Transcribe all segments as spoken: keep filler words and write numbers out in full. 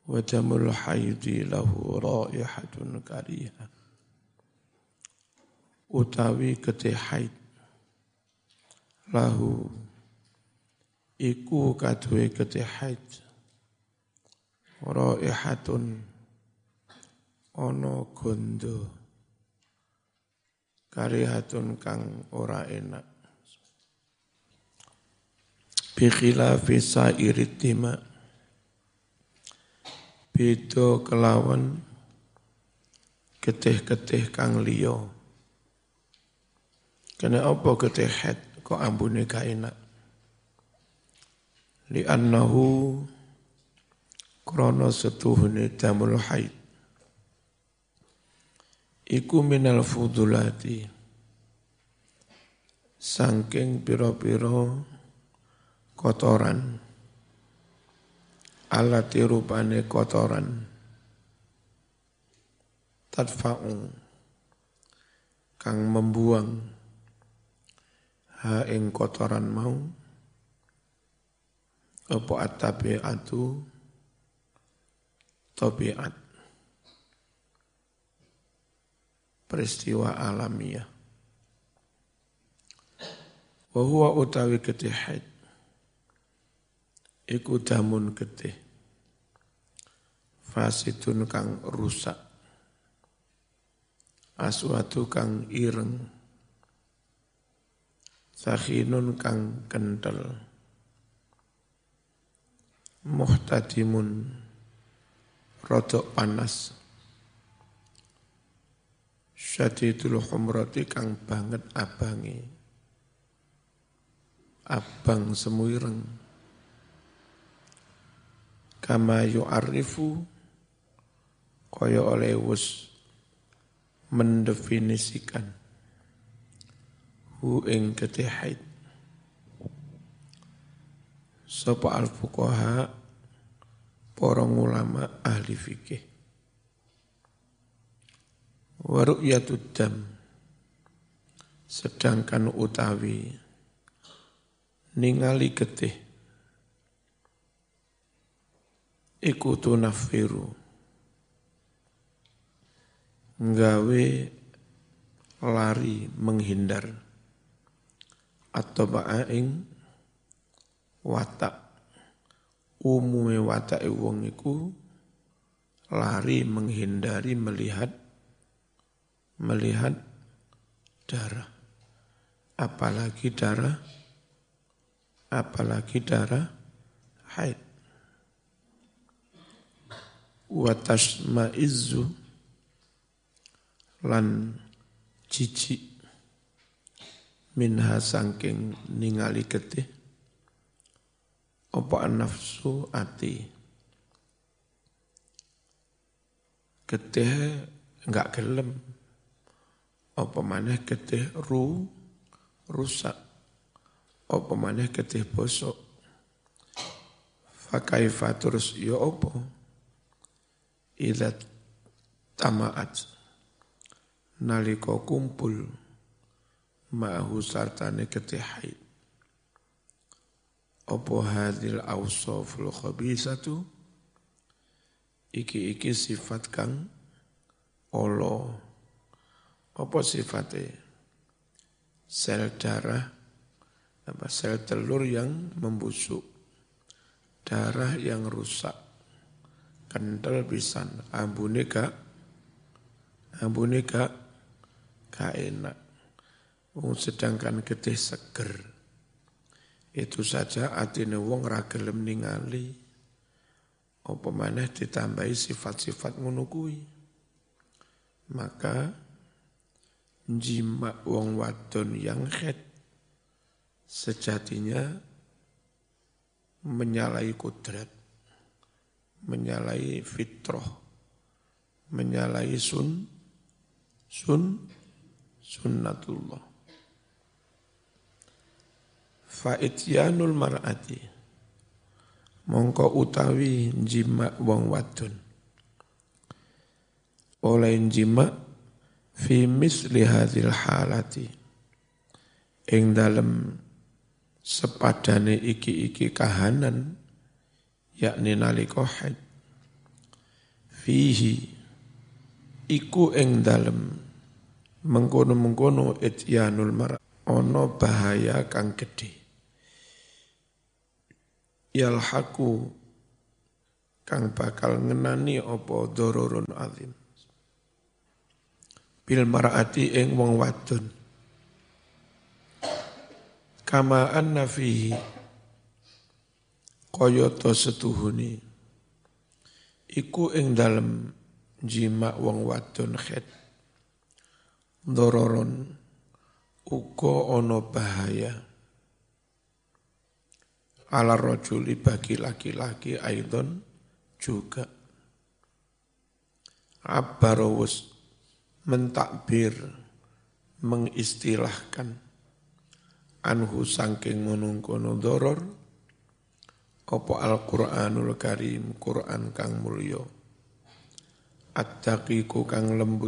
wa damul haidi lahu raihatun karihah. Utawi getih haid lahu iku kaduwe getih haid raihatun ono gondo karihatun kang ora enak bi khilafi sairid dima beda kelawan getih-getih kang liya. Kena apa getih haid kok ambune gak enak? Li annahu krana setuhune damul haid iku minal fudulati saking pira-pira kotoran alati rupane kotoran tadfa'u kang membuang ha ing kotoran mau apa at-tabi'atu tabiat peristiwa alamiah wa huwa utawi getih haid iku damun getih fasidun kang rusak aswatu kang ireng sakhinun kang kentel muhtadimun rodok panas syadidul humrati kang banget abangi abang semuireng kama yu'arifu kaya oleh wus mendefinisikan hu ing getih haid sapa al-fuqaha para ulama ahli fikih wa ru'yatud dam sedangkan utawi ningali getih iku tunafiru nggawe lari menghindar atau ba'aing watak umume watak wong iku lari menghindari melihat melihat darah apalagi darah apalagi darah haid wa tasma'izzu lan jijik minha sangking ningali getih apa nafsu ati getih enggak gelem apa maneh getih ru rusak apa maneh getih bosok fa kaifa terus ya apa idza tamaat nalika kumpul ma'hu sartane getih haid apa hadil awsaful khabisatu iki-iki sifat kang olo apa sifatnya sel darah apa sel telur yang membusuk darah yang rusak kental pisan ambune gak ambune gak gak enak. Sedangkan getih seger itu saja atine wong ra gelem ningali apa maneh ditambahi sifat-sifat ngono kuwi maka jima wong wadon yang haid sejatinya menyalahi kodrat menyalahi fitrah menyalahi sun sun sunnatullah fa'ityanul mar'ati mongko utawi jima wong wadon oleh jima fi misli hadhil halati ing dalem sepadane iki-iki kahanan yakni nalika haid fihi iku ing dalem mengkono-mengkono ityanul mar ana bahaya kang gedhe yalhaqu kang bakal ngenani apa dororun azim bil mar'ati ing wong wadon kama anna fihi kaya to setuhune iku ing dalem jima wong wadon khet dororon uga ana bahaya ala rajuli bagi laki-laki aidon juga abbarawus mentakbir mengistilahkan anhu sangking ngunung-kono doror apa Al-Qur'anul Karim Qur'an kang mulya at-taqiqu kang lembut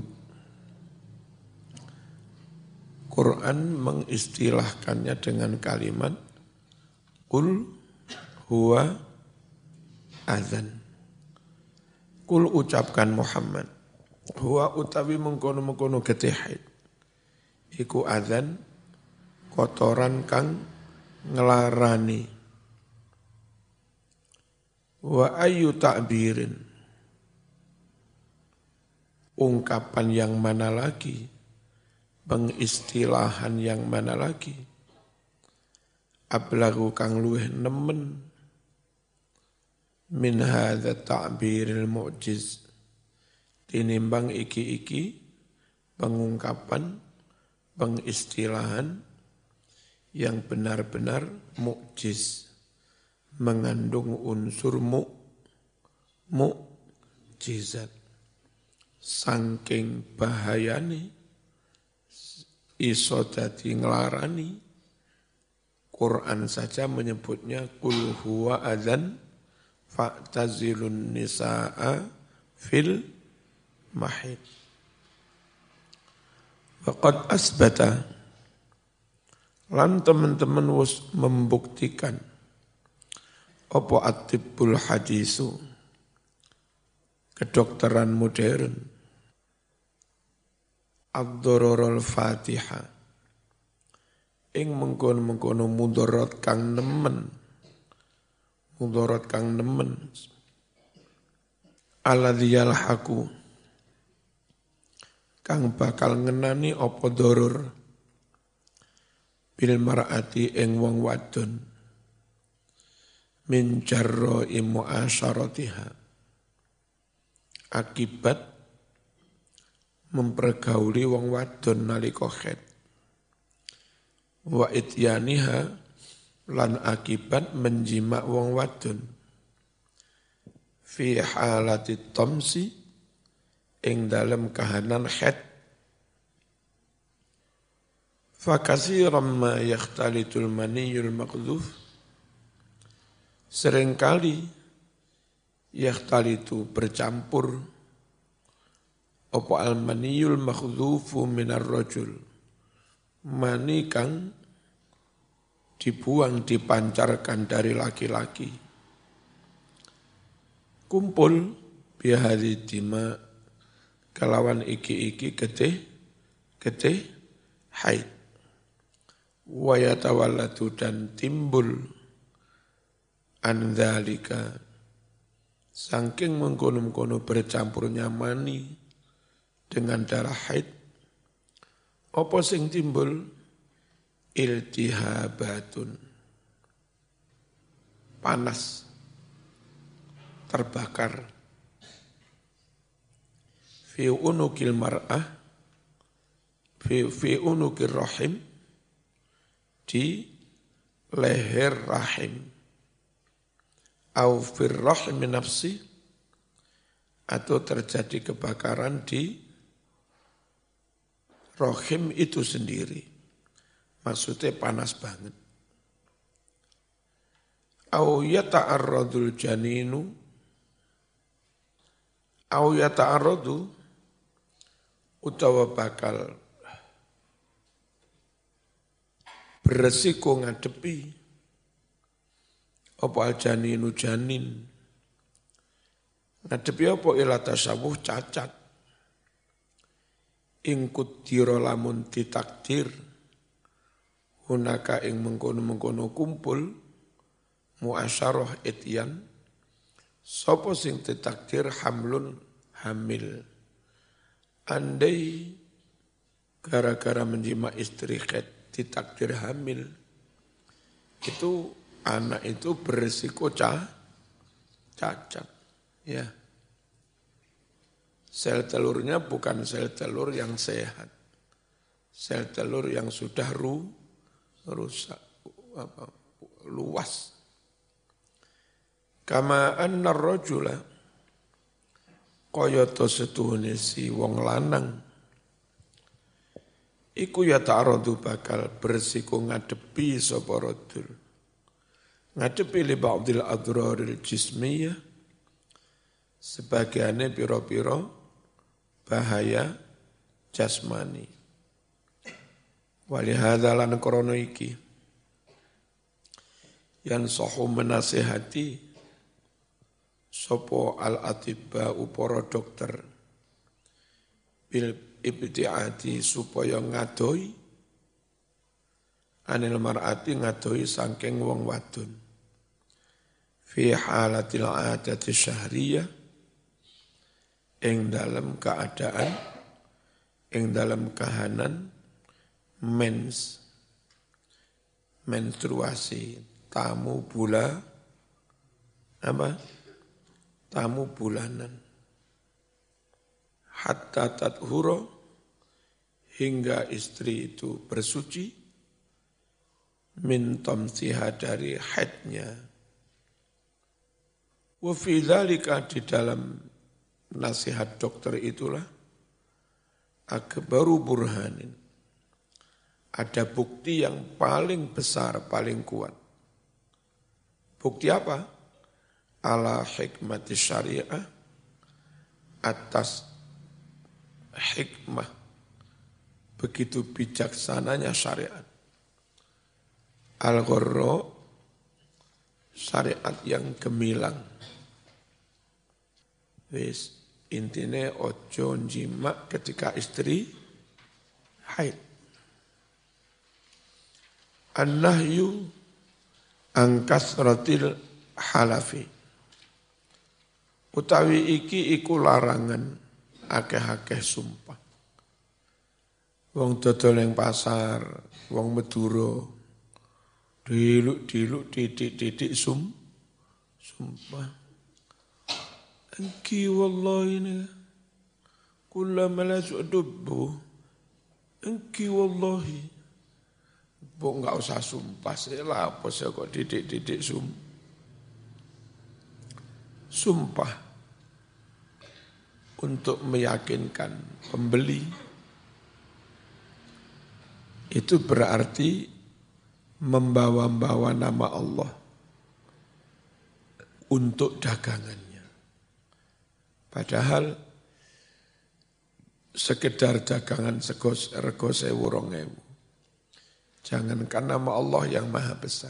Quran mengistilahkannya dengan kalimat Qul huwa azan. Qul ucapkan Muhammad. Huwa utawi mengkono-mengkono getih haid. Iku azan kotoran kang ngelarani. Wa ayu ta'birin. Ungkapan yang mana lagi? Pengistilahan yang mana lagi? Ablagu kang luweh nemen min hadza ta'biril mu'jiz tinimbang iki-iki pengungkapan pengistilahan yang benar-benar mukjiz mengandung unsur mu mukjizat saking bahayane iso dadi nglarani Quran saja menyebutnya qul huwa adzan fa'tazilun nisaa fil mahid. Waqad asbata lan teman-teman wis membuktikan apa at-tibbul hadisu kedokteran modern ad-dororul fatihah ing mengkono-mengkono mudarat kang nemen mudarat kang nemen alladzi yalhaqu kang bakal ngenani apa doror bil mar'ati ing wong wadon min jarra'i mu'asyaratiha akibat mempergauli wong wadon nalika khed wa ityaniha lan akibat menjima wong wadon fi halati tamsi ing dalem kahanan khed fa katsiran ma yakhtalitul maniyul maqdzuf seringkali yakhtalitu bercampur apa al maniyul maqdzufu minar rajul mani kang dibuang, dipancarkan dari laki-laki. Kumpul bihari dima kelawan iki-iki getih, getih haid. Wayatawallatu dan timbul andalika saking mengkono-mengkono bercampurnya mani dengan darah haid. Apa sing timbul? Iltihabatun. Panas. Terbakar. Fi unukil mar'ah. Fi, fi unukil rahim. Di leher rahim. Au fir rahim nafsi. Atau terjadi kebakaran di rahim itu sendiri. Maksudnya panas banget. Au yata'arradul janinu. Au yata'arradu. Utawa bakal beresiko ngadepi. Apa al janinu janin. Ngadepi apa ila tasawuh cacat. Ingkut diro lamun ditakdir hunaka ing mengkono-mengkono kumpul muasyarah ityan sapa sing ditakdir hamlun hamil. Andai gara-gara menjima istri khed ditakdir hamil, itu anak itu berisiko cah, cacat. Ya. Sel telurnya bukan sel telur yang sehat. Sel telur yang sudah ru, rusak, apa, luas. Kama anna rajula kayata setuhune si wong lanang iku ya ta'aradu bakal bersiko ngadepi sapa rajul. Ngadepi li ba'dil adraril jismiyah sebagiannya piro-piro bahaya jasmani. Walihada lan krono iki yang sohu menasihati sopo al-atibba uporo dokter bil ibtiati supaya ngadoi anil mar'ati ngadoi sangking wong wadon fi halatil adati syahriyah ing dalam keadaan ing dalam kahanan mens menstruasi tamu bula apa tamu bulanan hatta tathuro hingga istri itu bersuci min tamsiha dari haidnya wa fi dzalika di dalam nasihat dokter itulah akbaru burhanin. Ada bukti yang paling besar, paling kuat. Bukti apa? Ala hikmati syariah atas hikmah begitu bijaksananya syariat. Al-Ghurra syariat yang gemilang. Wis intine ojo njima ketika istri haid. An-nahyu angkasratil halafi. Utawi iki iku larangan akeh-akeh sumpah. Wong dodol ning pasar, wong Madura, diluk-diluk titik-titik sum sumpah. Engki wallahi ini kullama la su'dubbu engki wallahi bu enggak usah sumpah saya lah apa saya kok didik-didik sum sumpah untuk meyakinkan pembeli itu berarti membawa-bawa nama Allah untuk dagangannya. Padahal sekedar dagangan segos rego sewu rong ewu. Jangankan nama Allah yang maha besar.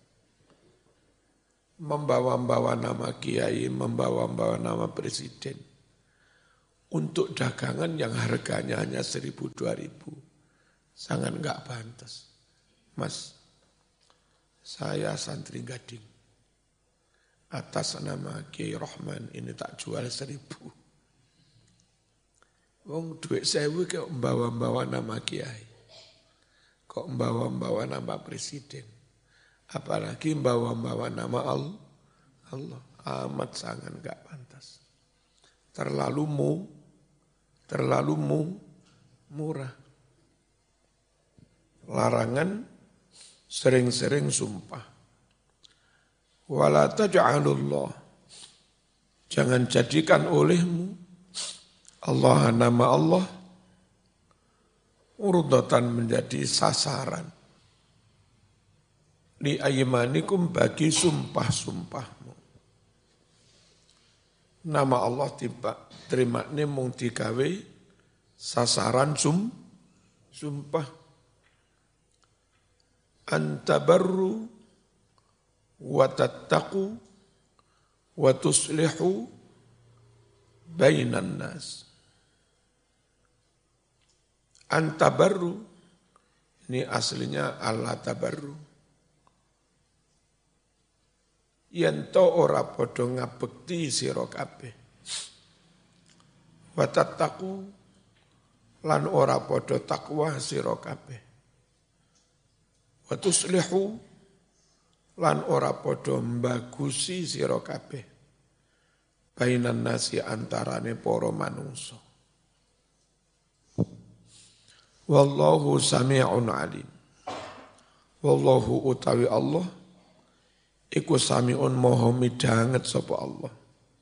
Membawa-bawa nama kiai, membawa-bawa nama presiden. Untuk dagangan yang harganya hanya seribu dua ribu. Sangat enggak pantas. Mas, saya santri Gading. Atas nama Kiai Rahman ini tak jual seribu. Wong duit sewu kok membawa-bawa nama Kiai. Kok membawa-bawa nama presiden. Apalagi membawa-bawa nama Allah. Allah amat sangat enggak pantas. Terlalu mu, terlalu mu, murah. Larangan sering-sering sumpah. Wala taj'alullah. Jangan jadikan olehmu Allah nama Allah urdatan menjadi sasaran li aymanikum bagi sumpah-sumpahmu. Nama Allah tiba terima ini mung digawe sasaran sum sumpah. Antabarru wa tattaqu wa tuslihu bainan nas. Antabarru, ini aslinya Allah tabarru. Yanto ora podo ngabekti sira kabeh. Wa tattaqu lan ora podo takwa sira kabeh. Wa tuslihu lan ora podo mbagusi sira kabeh. Bainan nasi antarane para manungsa. Wallahu sami'un alim. Wallahu utawi Allah iku sami'un moho midanget sapa Allah.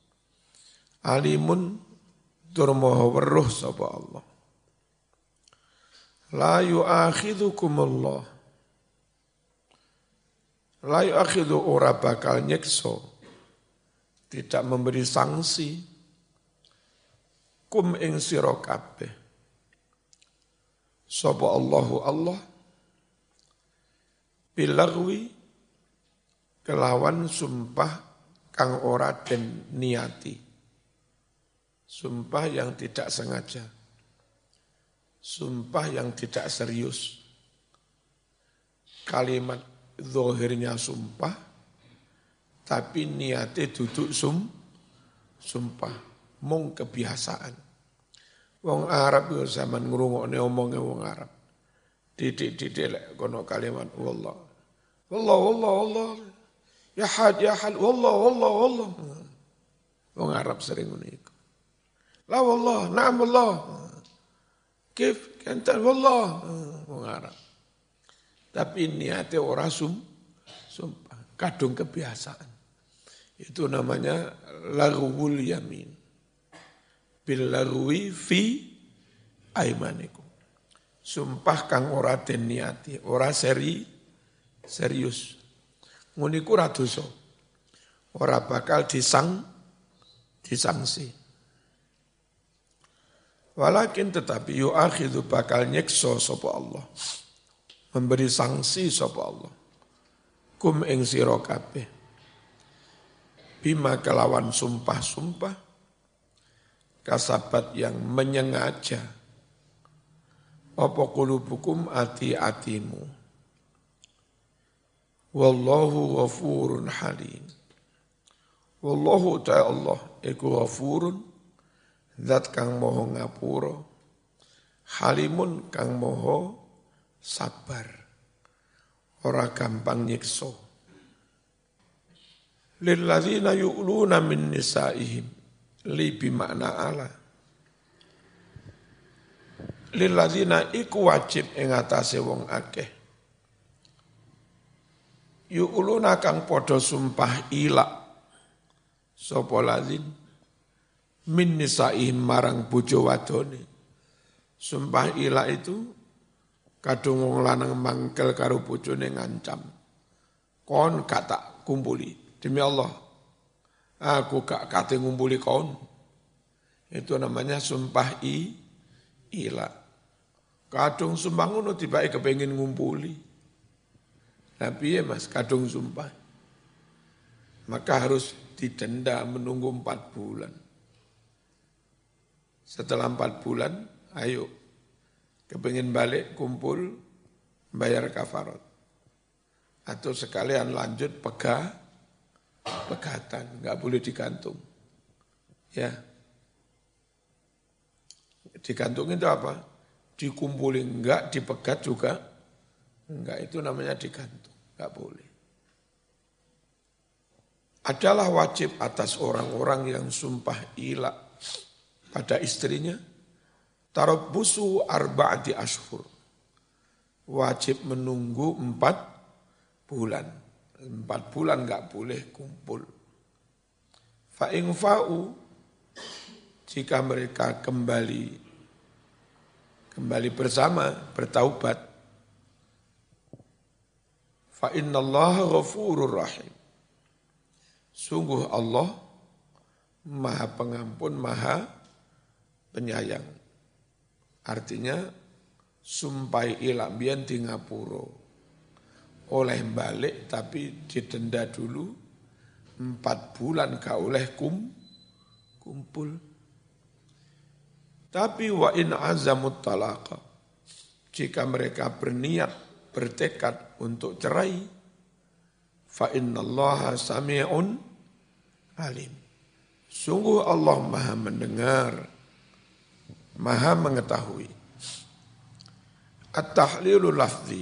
Alimun tur moho weruh sapa Allah. La yu'akhidhukum Allah. La yu'akhidhu ora bakal nyekso. Tidak memberi sanksi. Kum ing sira kabeh. Sapa Allahu Allah. Bilagwi kelawan sumpah kang ora den niati. Sumpah yang tidak sengaja. Sumpah yang tidak serius. Kalimat zahirnya sumpah, tapi niatnya duduk sum, sumpah. Mung kebiasaan. Wong Arab yo zaman ngrungokne omonge wong Arab. Didik-didik lek kono kalimat wallah. Wallah wallah wallah. Ya had, ya had, wallah, wallah, wallah. Wong Arab sering ngene iku. La wallah, na'am wallah. Kif, kantan wallah. Wong Arab. Tapi niatnya ora sum, sumpah. Kadung kebiasaan. Itu namanya laghwul yamin. Bil laghwi fi aimanikum. Sumpah kang ora den niati, ora seri, serius. Nguniku ora dosa. Ora bakal disang disangsi. Walakin tetapi yu'akhidhu bakal nyekso sapa Allah. Memberi sanksi sapa Allah. Kum ing sira kabeh. Bima kelawan sumpah-sumpah kasabat yang menyengaja. Apa qulubukum ati-atimu. Wallahu ghafurun halim. Wallahu ta'ala Allah iku ghafurun zat kang moho ngapura, halimun kang moho sabar, ora gampang nyiksa. Lilladzina yu'luna min nisaihim, li bimakna ala. Lilladzina iku wajib ing atase wong akeh. Yu'luna kang podo sumpah ilak sapa ladzin min nisaihim marang bojo wadone. Sumpah ilak itu kadung wong lanang mangkel karo bojone ngancam. Kon gak tak kumpuli demi Allah. Aku gak kate ngumpuli kon. Itu namanya sumpah i ilak. Kadung sumpah ngono tibake kepengin ngumpuli. Tapi ya mas, kadung sumpah. Maka harus didenda menunggu empat bulan. Setelah empat bulan, ayo. Kepingin balik, kumpul, bayar kafarat. Atau sekalian lanjut pegah, pegatan. Enggak boleh digantung. Ya. Digantung itu apa? Dikumpulin, enggak, dipegat juga. Enggak, itu namanya digantung. Enggak boleh. Adalah wajib atas orang-orang yang sumpah ilak pada istrinya. Tarabbusu arba'ati ashhur. Wajib menunggu empat bulan. Empat bulan enggak boleh kumpul. Fa'in fa'u, jika mereka kembali kembali bersama, bertaubat, fa innallaha ghafurur rahim. Sungguh Allah Maha Pengampun, Maha Penyayang. Artinya sumpai ilak biyen di ngapura. Oleh balik tapi didenda dulu empat bulan gak oleh kum, kumpul. Tapi wa in azamut talaqa, jika mereka berniat, bertekad untuk cerai, fa innallaha sami'un alim. Sungguh Allah Maha mendengar, Maha mengetahui. At-tahlilu lafzi,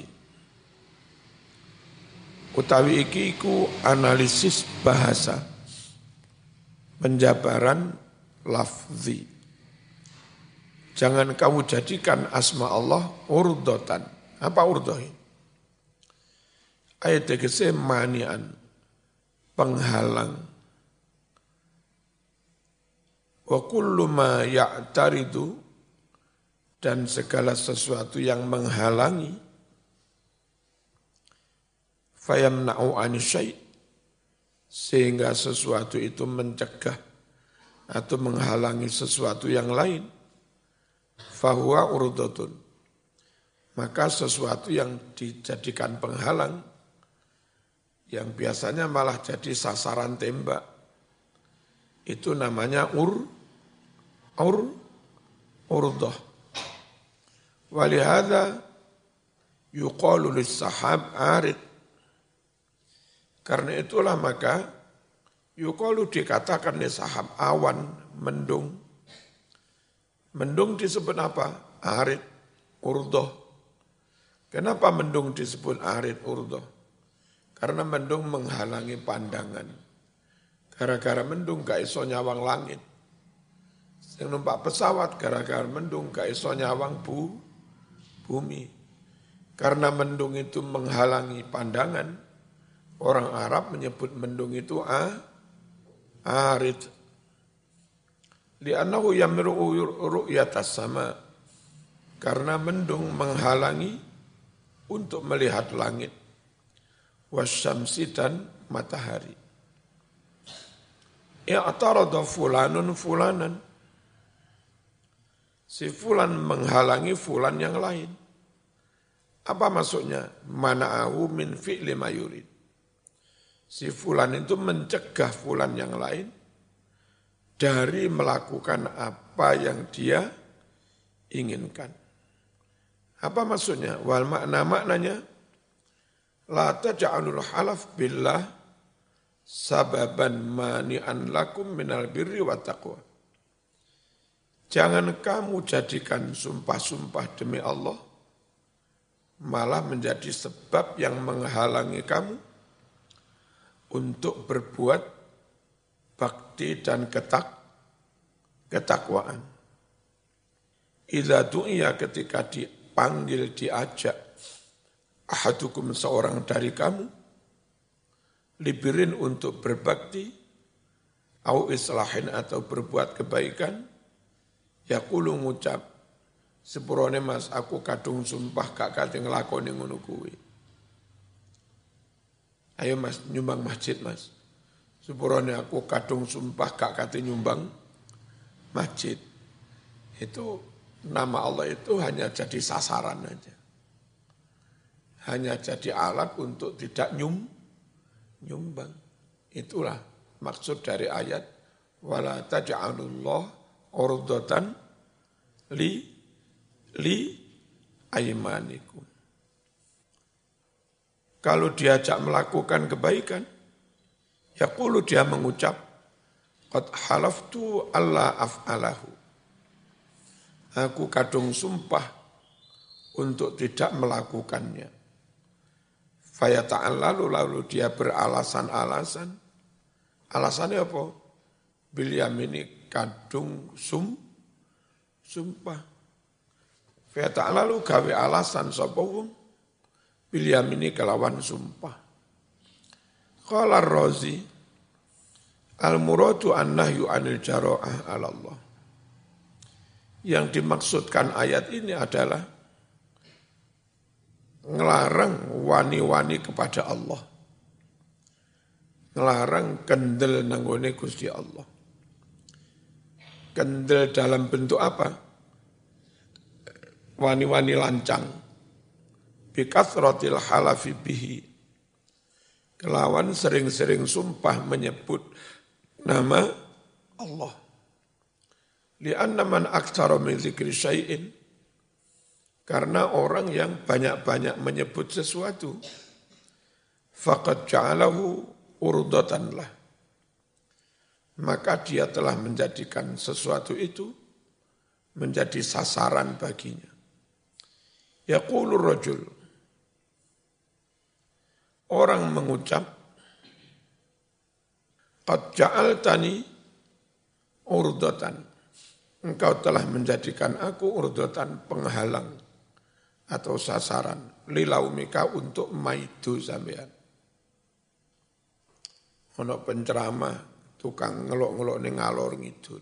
utawi iki iku analisis bahasa, penjabaran lafzi. Jangan kamu jadikan asma Allah urdotan. Apa urdohin? Ayat tegese manian, penghalang. Wa kullu ma ya'taridu, dan segala sesuatu yang menghalangi, fayamna'u anisyai, sehingga sesuatu itu mencegah atau menghalangi sesuatu yang lain, fahuwa urdatun, maka sesuatu yang dijadikan penghalang, yang biasanya malah jadi sasaran tembak, itu namanya ur, ur, urdah. Walihada yuqalu lis-sahab arid. Karena itulah maka yuqalu dikatakan lis-sahab awan, mendung. Mendung disebut apa? Arid, urdah. Kenapa mendung disebut arid, urdah? Karena mendung menghalangi pandangan. Gara-gara mendung gak iso nyawang langit. Yang numpak pesawat gara-gara mendung gak iso nyawang bu, bumi. Karena mendung itu menghalangi pandangan, orang Arab menyebut mendung itu a, arid. Li'annahu yamru'u ru'yatas sama, karena mendung menghalangi untuk melihat langit, wasyamsi dan matahari. I'tarada fulanun fulanan, si fulan menghalangi fulan yang lain. Apa maksudnya? Mana'ahu min fi'li ma yurid. Si fulan itu mencegah fulan yang lain dari melakukan apa yang dia inginkan. Apa maksudnya? Wal makna maknanya, la taj'alul halaf billah sababan mani'an lakum minal birri wa taqwa. Jangan kamu jadikan sumpah-sumpah demi Allah malah menjadi sebab yang menghalangi kamu untuk berbuat bakti dan ketak, ketakwaan. Idza du'iya, ketika dipanggil, diajak, ahadukum, seorang dari kamu, libirin, untuk berbakti, au islahin, atau berbuat kebaikan, yaqulu, ngucap, sepurone mas, aku kadung sumpah gak kate nglakoni ngono kuwi. Ayo mas, nyumbang masjid mas. Sepurone aku kadung sumpah gak kate nyumbang masjid. Itu nama Allah itu hanya jadi sasaran aja. Hanya jadi alat untuk tidak nyum, nyumbang. Itulah maksud dari ayat wala taj'alullah urdatan li li aymanikum. Kalau diajak melakukan kebaikan, yaqulu, dia mengucap, qad halaftu alla af'alahu. Aku kadung sumpah untuk tidak melakukannya. Fayata'allalu, lalu dia beralasan-alasan. Alasannya apa? Bil yamini, kadung sum, sumpah. Fayata'allalu, gawe alasan sapa wong. Bil yamini, kelawan sumpah. Qala Ar-Razi, al-muradu an-nahyu anil jara'ah ala Allah. Yang dimaksudkan ayat ini adalah ngelarang wani-wani kepada Allah. Ngelarang kendel nanggone Gusti Allah. Kendel dalam bentuk apa? Wani-wani lancang. Bikathratil halafi bihi. Kelawan sering-sering sumpah menyebut nama Allah. Li'anna man aktsara min dzikri syai'in, karena orang yang banyak-banyak menyebut sesuatu, faqad ja'alahu urdatan lah, maka dia telah menjadikan sesuatu itu menjadi sasaran baginya. Yaqulur rajul, orang mengucap, qad ja'altani urdatan, engkau telah menjadikan aku urdatan, penghalang atau sasaran, lilaumika, untuk maidu sampean. Ono penceramah tukang ngelok-ngelok ning ngalor ngidul.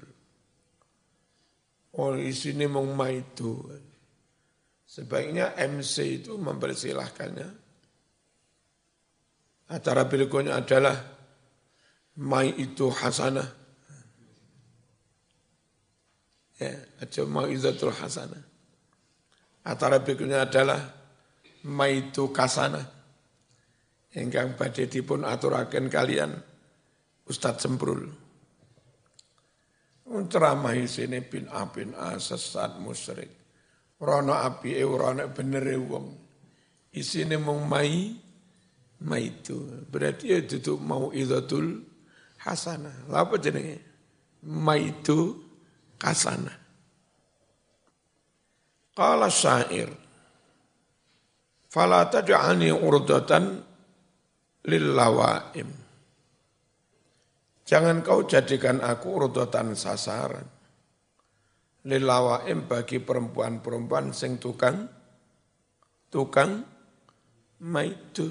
Oh isine mung maidu. Sebaiknya M C itu mempersilahkannya. Acara berikutnya adalah mai itu hasanah. Ya, aja mau'izatul hasanah. Acara berikutnya adalah mai itu kasanah. Ingkang badhe dipun aturaken kalian Ustadz Semprul. Ceramah isine bin A bin A sesat musyrik. Rono apike ora ana benere wong. Isine mung mai mai itu. Berarti ya duduk mau'izatul hasanah. Lha apa jenenge? Mai itu kasanah. Qala syair, fala taj'alni urdatan lillawaim. Jangan kau jadikan aku urdatan sasaran. Lillawaim, bagi perempuan-perempuan sing tukang tukang maidu.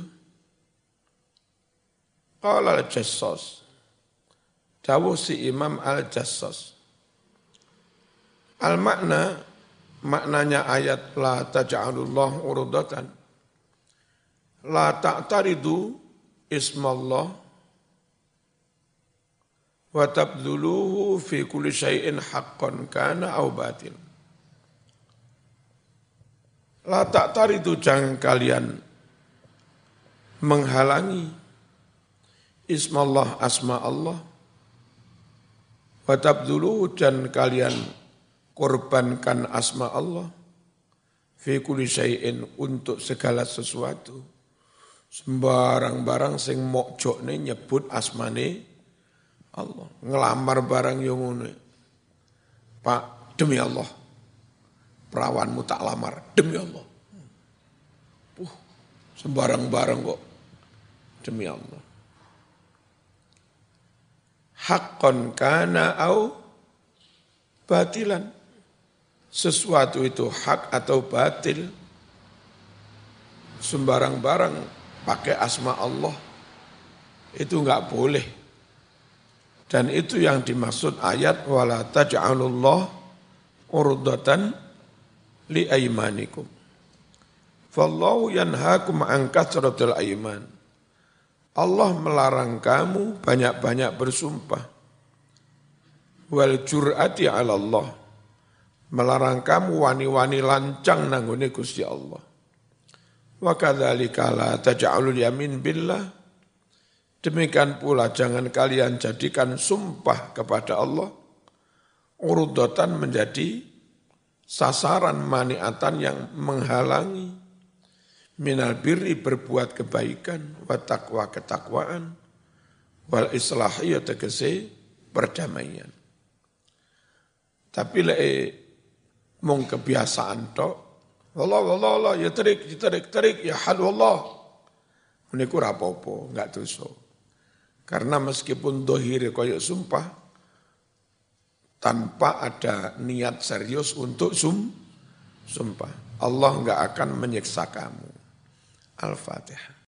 Qala al-Jassas, dawuh si Imam al-Jassas, al-makna, maknanya ayat la taj'alullah urdatan, la ta'taridu ismallah wa tabdhuluhu fi kulli syai'in haqqan kana aw batil. La ta'taridu, jangan kalian menghalangi ismallah, asma Allah, wa tabdhuluhu, dan kalian korbankan asma Allah, fi kulli syai'in, untuk segala sesuatu. Sembarang barang sing mokjokne nyebut asmane Allah. Ngelamar barang yang ngono. Pak, demi Allah, perawanmu tak lamar, demi Allah. Puh, sembarang barang kok demi Allah. Haqqan kana au batilan. Sesuatu itu hak atau batil. Sembarang barang pakai asma Allah itu enggak boleh. Dan itu yang dimaksud ayat wala taj'alullah urdatan li aymanikum. Fallahu yanhaakum an katsratil ayman. Allah melarang kamu banyak-banyak bersumpah. Wal jur'ati 'ala Allah. Melarang kamu wani-wani lancang nanggone Gusti Allah. Wa kadzalika la taj'alul yamin billah. Demikian pula jangan kalian jadikan sumpah kepada Allah urdatan, menjadi sasaran, maniatan, yang menghalangi minal birri, berbuat kebaikan, wa taqwa, ketakwaan, wal islahi, tegese perdamaian. Tapi lek mung kebiasaan tok, wallah wallah wallah ya terik terik terik ya hal wallah, niku ora apa-apa, enggak dosa. Karena meskipun dohir koyok sumpah, tanpa ada niat serius untuk sum, sumpah, Allah enggak akan menyiksa kamu. Al-Fatihah.